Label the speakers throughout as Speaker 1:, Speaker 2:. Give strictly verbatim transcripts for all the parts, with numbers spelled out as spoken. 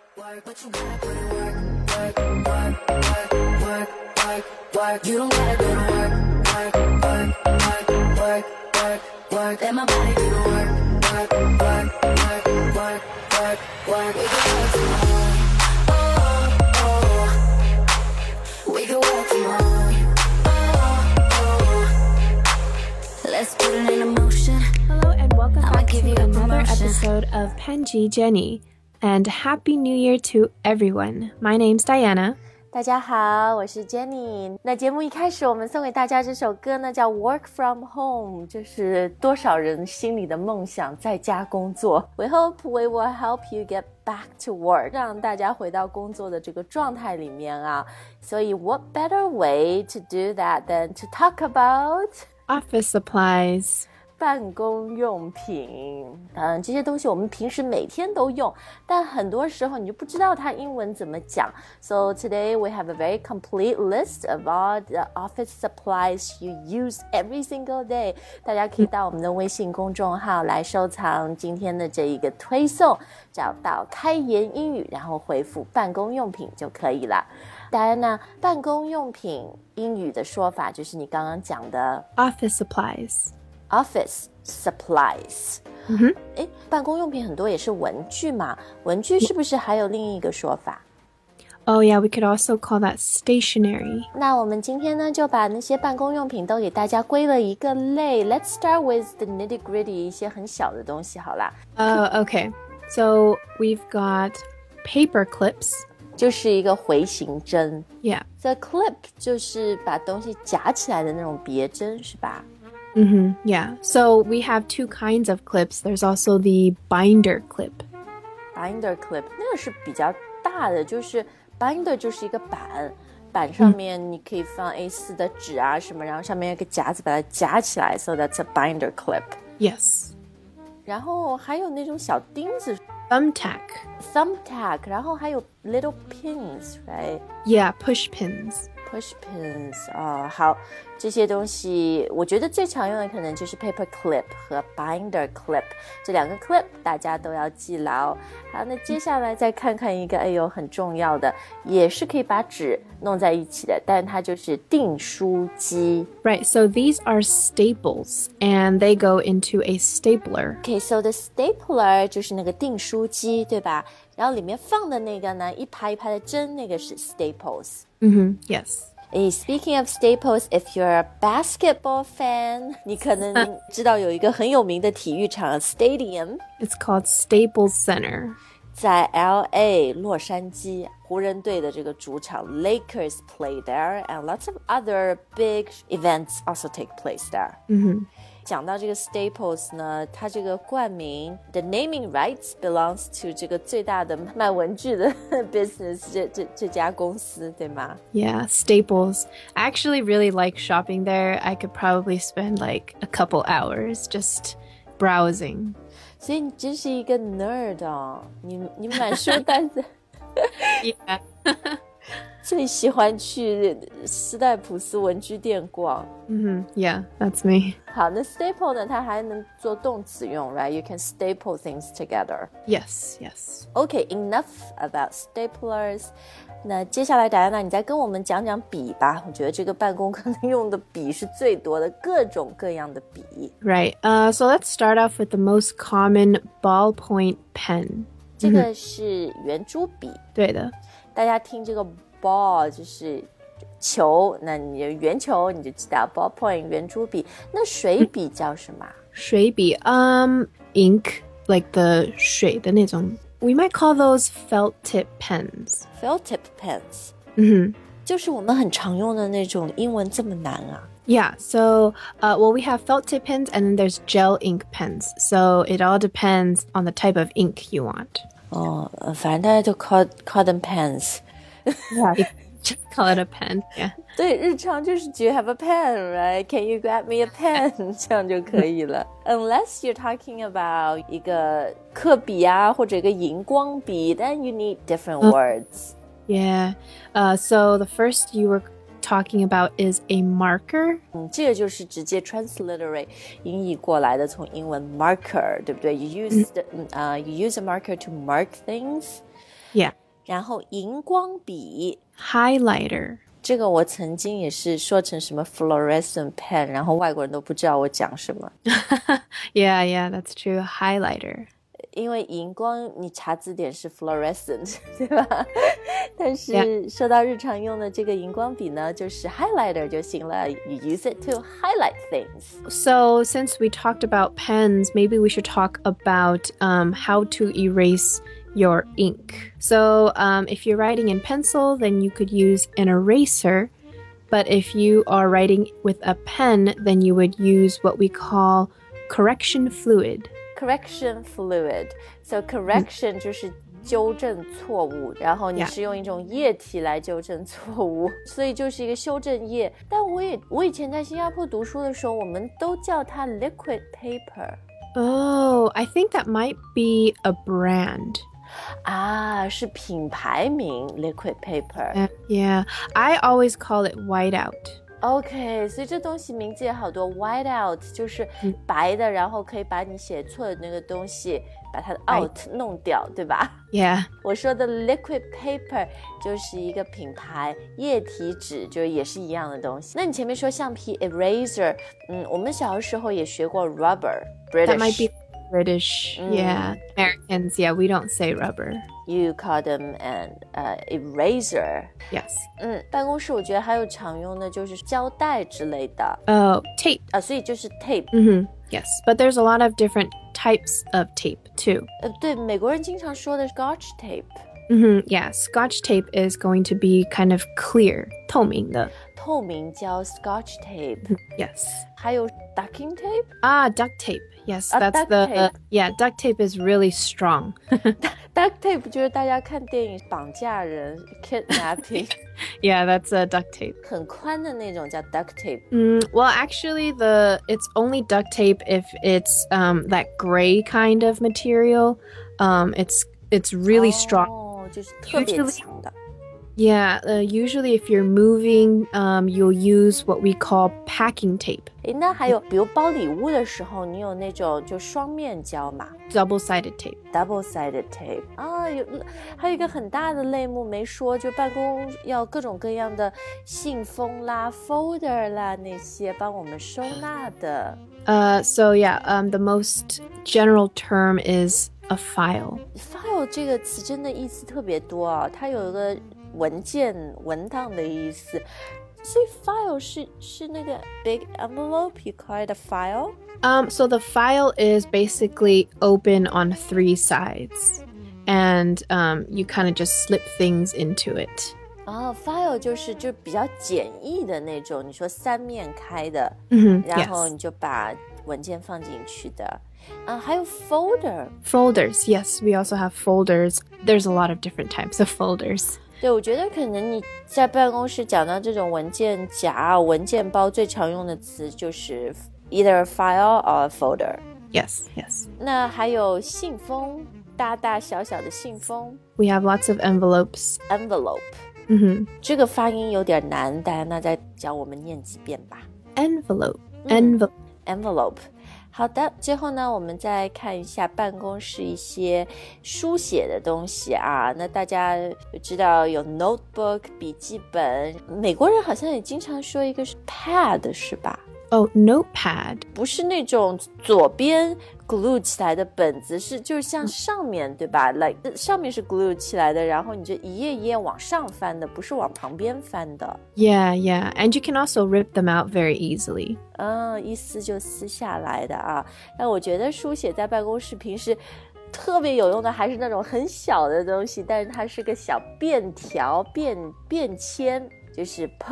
Speaker 1: work, but you gotta put in work, work, work, work, work, work, work. You don't gotta go to work, work, work, work, work, work, work. Let my body do the work, work, work, work, work, work, work. We can work tomorrow, oh, oh. We can work tomorrow, oh, oh. Let's put it in motion.
Speaker 2: Hello and welcome
Speaker 1: I'ma
Speaker 2: back
Speaker 1: give
Speaker 2: to
Speaker 1: you a
Speaker 2: another
Speaker 1: promotion.
Speaker 2: episode of Penji Jenny. And Happy New Year to everyone. My name's Diana.
Speaker 3: 大家好，我是 Jenny。那节目一开始，我们送给大家这首歌呢，叫 Work From Home， 这是多少人心里的梦想，在家工作。We hope we will help you get back to work， 让大家回到工作的这个状态里面啊。所以 what better way to do that than to talk about
Speaker 2: Office supplies.
Speaker 3: 办公用品，嗯，这些东西我们平时每天都用，但很多时候你就不知道它英文怎么讲。So today we have a very complete list of all the office supplies you use every single day. 大家可以到我们的微信公众号来收藏今天的这一个推送，找到开言英语，然后回复办公用品就可以了。当然呢，办公用品英语的说法就是你刚刚讲的
Speaker 2: Office supplies.Office
Speaker 3: supplies，
Speaker 2: 嗯哼，
Speaker 3: 诶，办公用品很多也是文具嘛，文具是不是还有另一个说法？
Speaker 2: Oh yeah, we could also call that stationery.
Speaker 3: 那我们今天呢，就把那些办公用品都给大家归了一个类。Let's start with the nitty-gritty， 一些很小的东西好啦。
Speaker 2: Oh, okay. So we've got paper clips.
Speaker 3: 就是一个回形针。
Speaker 2: Yeah.
Speaker 3: The clip 就是把东西夹起来的那种别针，是吧
Speaker 2: Mm-hmm. Yeah. So we have two kinds of clips. There's also the binder clip.
Speaker 3: Binder clip 那个是比较大的，就是 binder 就是一个板，板上面你可以放 A 四 的纸啊什么，然后上面有个夹子把它夹起来 ，so that's a binder clip.
Speaker 2: Yes.
Speaker 3: 然后还有那种小钉子
Speaker 2: Thumbtack.
Speaker 3: thumbtack， 然后还有 little pins, right?
Speaker 2: Yeah, push pins.
Speaker 3: Push pins 哦，好，这些东西我觉得最常用的可能就是 paper clip 和 binder clip 这两个 clip 大家都要记牢。好，那接下来再看看一个哎呦很重要的，也是可以把纸弄在一起的，但它就是订书机。
Speaker 2: Right, so these are staples and they go into a stapler.
Speaker 3: Okay, so the stapler 就是那个订书机，对吧？然后里面放的那个呢，一排一排的针，那个是 staples。
Speaker 2: Mm-hmm. Yes.
Speaker 3: Hey, speaking of staples, if you're a basketball fan, 你可能知道有一个很有名的体育场 stadium，
Speaker 2: It's called Staples Center.
Speaker 3: 在 L A 洛杉矶湖人队的这个主场 Lakers play there, and lots of other big events also take place there.
Speaker 2: Mm-hmm.
Speaker 3: 讲到这个 Staples 呢，它这个冠名 the naming rights belongs to 这个最大的卖文具的 business 这这这家公司，对吗？
Speaker 2: Yeah, Staples. I actually really like shopping there. I could probably spend like a couple hours just browsing.
Speaker 3: 所以你真是一个 nerd 哦，你你满书呆子。
Speaker 2: Yeah.
Speaker 3: 最喜欢去斯代普斯文具店逛。
Speaker 2: Mm-hmm. Yeah, that's me.
Speaker 3: 好，那 staple 呢，它还能做动词用 right? You can staple things together.
Speaker 2: Yes, yes.
Speaker 3: Okay, enough about staplers. 那接下来Diana，你再跟我们讲讲笔吧。我觉得这个办公可能用的笔是最多的，各种各样的笔。
Speaker 2: Right. Uh, so let's start off with the most common ballpoint pen.
Speaker 3: 这个是圆珠笔。
Speaker 2: 对的。
Speaker 3: 大家听这个 ball 就是球，那你圆球你就知道 ballpoint 圆珠笔。那水笔叫什么？
Speaker 2: 水笔 um ink, like the 水的那种 we might call those felt tip pens.
Speaker 3: Felt tip pens.
Speaker 2: Mm-hmm.
Speaker 3: 就是我们很常用的那种，英文这么难啊。
Speaker 2: Yeah, so uh, well, we have felt tip pens and then there's gel ink pens. So it all depends on the type of ink you want.
Speaker 3: 哦，反正大家就 call call them pens.
Speaker 2: Yeah, just call it a pen. Yeah.
Speaker 3: 对，日常就是 Do you have a pen, right? Can you grab me a pen? 这样就可以了。Unless you're talking about 一个刻笔啊，或者一个荧光笔 then you need different words.
Speaker 2: Yeah. Uh, so the first you were talking about is a marker.
Speaker 3: 嗯，这个就是直接 transliterate 音译过来的，从英文 marker， 对不对？ You use the, uh, you use a marker to mark things.
Speaker 2: Yeah.
Speaker 3: 然后荧光笔
Speaker 2: highlighter。
Speaker 3: 这个我曾经也是说成什么 fluorescent pen， 然后外国人都不知道我讲什么。
Speaker 2: yeah, yeah, that's true. Highlighter.
Speaker 3: 因为荧光你查字典是 fluorescent 对吧？但是说到日常用的这个荧光笔呢，就是 highlighter 就行了。You use it to highlight things.
Speaker 2: So since we talked about pens, maybe we should talk about um, how to erase your ink. So um, if you're writing in pencil, then you could use an eraser. But if you are writing with a pen, then you would use what we call correction fluid.
Speaker 3: Correction fluid. So correction 就是纠正错误，然后你是用一种液体来纠正错误，所以就是一个修正液。但我也我以前在新加坡读书的时候，我们都叫它 liquid paper。Oh,
Speaker 2: I think that might be a brand.
Speaker 3: 啊，是品牌名 liquid paper.
Speaker 2: Uh, yeah, I always call it whiteout.OK,
Speaker 3: 所以这东西名字也好多 whiteout 就是白的，然后可以把你写错的那个东西把它的 out 弄掉，对吧？
Speaker 2: Yeah.
Speaker 3: 我说的 liquid paper 就是一个品牌，液体纸就也是一样的东西。那你前面说橡皮 eraser， 嗯，我们小的时候也学过 rubber British.
Speaker 2: That might be British, mm. yeah. Americans, yeah, we don't say rubber.
Speaker 3: You call them an uh, eraser.
Speaker 2: Yes.
Speaker 3: 嗯，办公室我觉得还有常用的就是胶带之类的。
Speaker 2: Oh, tape.
Speaker 3: 啊，所以就是 tape.
Speaker 2: Mm-hmm. Yes, but there's a lot of different types of tape too.
Speaker 3: 呃，对，美国人经常说的 Scotch tape.
Speaker 2: Mm-hmm. Yeah, Scotch tape is going to be kind of clear, 透明的。
Speaker 3: 透明胶 Scotch tape.
Speaker 2: Yes.
Speaker 3: 还有 ducking tape?
Speaker 2: Ah, duct tape. Yes,
Speaker 3: ah,
Speaker 2: that's
Speaker 3: duct
Speaker 2: the
Speaker 3: tape.
Speaker 2: Uh, yeah, duct tape is really strong.
Speaker 3: Duct tape 就是大家看电影绑架人 kidnapping.
Speaker 2: Yeah, that's a duct tape.
Speaker 3: 很宽的那种叫 duct tape.
Speaker 2: Mm, well, actually, the it's only duct tape if it's um, that gray kind of material. Um, it's it's really strong.
Speaker 3: 哦，就是特别强的。
Speaker 2: Yeah, uh, usually if you're moving, um, you'll use what we call packing tape.
Speaker 3: 诶，那还有比如包礼物的时候，你有那种就双面胶嘛
Speaker 2: Double-sided tape.
Speaker 3: Double-sided tape. 啊，有还有一个很大的类目没说，就办公要各种各样的信封啦、folder 啦那些帮我们收纳的。
Speaker 2: Uh, so yeah, um, the most general term is a file.
Speaker 3: File 这个词真的意思特别多啊，它有一个文件文档的意思，所以 file 是是那个 big envelope, you call it a file?
Speaker 2: Um, so the file is basically open on three sides, and um, you kind of just slip things into it.
Speaker 3: 哦 file 就是就比较简易的那种，你说三面开的，
Speaker 2: Mm-hmm,
Speaker 3: 然后
Speaker 2: yes.
Speaker 3: 你就把文件放进去的。啊，还有 folder.
Speaker 2: Folders, yes, we also have folders. There's a lot of different types of folders.
Speaker 3: 对，我觉得可能你在办公室讲到这种文件夹、文件包，最常用的词就是 either a file or a folder.
Speaker 2: Yes, yes.
Speaker 3: 那还有信封，大大小小的信封
Speaker 2: We have lots of envelopes.
Speaker 3: envelope.
Speaker 2: Mm-hmm.
Speaker 3: 这个发音有点难，大家那再教我们念几遍吧。
Speaker 2: Envelope, envelope.
Speaker 3: envelope. 好的，最后呢，我们再看一下办公室一些书写的东西啊。那大家就知道有 notebook 笔记本，美国人好像也经常说一个是 pad 是吧？
Speaker 2: Oh, notepad.
Speaker 3: 不是那种左边 glue 起来的本子，是就是像上面对吧 like 上面是 glue 起来的，然后你就一页一页往上翻的，不是往旁边翻的。
Speaker 2: Yeah, yeah. And you can also rip them out very easily.
Speaker 3: 嗯，一撕就撕下来的啊。那我觉得书写在办公室平时特别有用的还是那种很小的东西，但是它是个小便条便便签，就是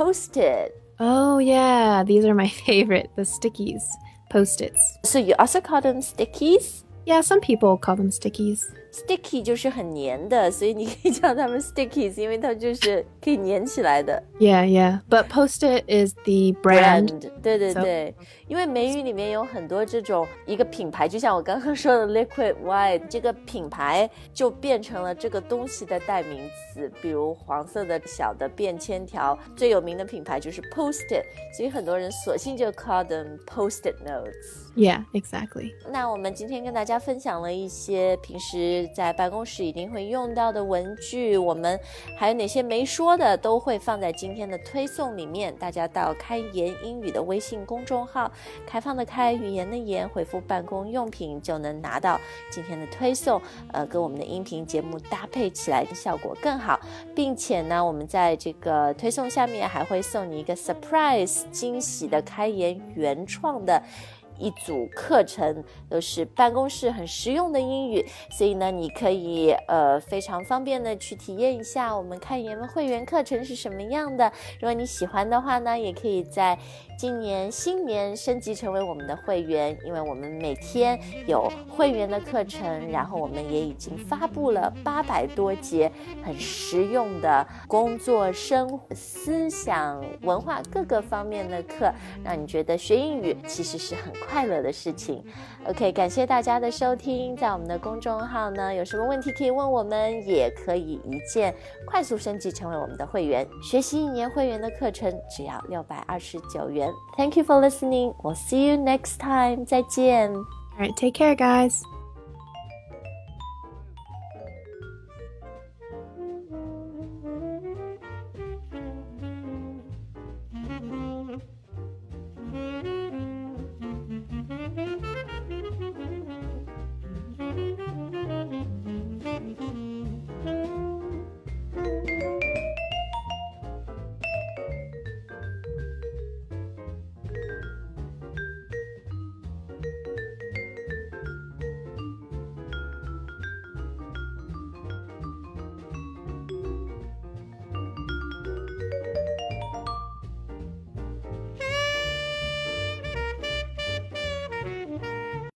Speaker 3: post-it。Oh,
Speaker 2: yeah. These are my favorite, the stickies, Post-its.
Speaker 3: So you also call them stickies?
Speaker 2: Yeah, some people call them stickies.
Speaker 3: Sticky 就是很黏的，所以你可以叫它们 stickies， 因为它就是可以黏起来的。
Speaker 2: Yeah, yeah. But Post-it is the brand.
Speaker 3: brand 对对对， so, 因为美语里面有很多这种一个品牌，就像我刚刚说的 Liquid White， 这个品牌就变成了这个东西的代名词。比如黄色的小的便签条，最有名的品牌就是 Post-it， 所以很多人索性就 call them Post-it notes。
Speaker 2: Yeah, exactly.
Speaker 3: 那我们今天跟大家分享了一些平时时在办公室一定会用到的文具，我们还有哪些没说的都会放在今天的推送里面，大家到开言英语的微信公众号，开放的开，语言的言，回复办公用品就能拿到今天的推送，呃，跟我们的音频节目搭配起来的效果更好，并且呢，我们在这个推送下面还会送你一个 surprise 惊喜的开言原创的一组课程，都是办公室很实用的英语，所以呢，你可以呃非常方便的去体验一下我们开言会员课程是什么样的。如果你喜欢的话呢，也可以在今年新年升级成为我们的会员，因为我们每天有会员的课程，然后我们也已经发布了八百多节很实用的工作、生活、思想、文化各个方面的课，让你觉得学英语其实是很快乐的事情。 OK， 感谢大家的收听，在我们的公众号呢，有什么问题可以问我们，也可以一键快速升级成为我们的会员，学习一年会员的课程只要六百二十九元。 Thank you for listening. We'll see you next time. 再见。
Speaker 2: All right, take care, guys.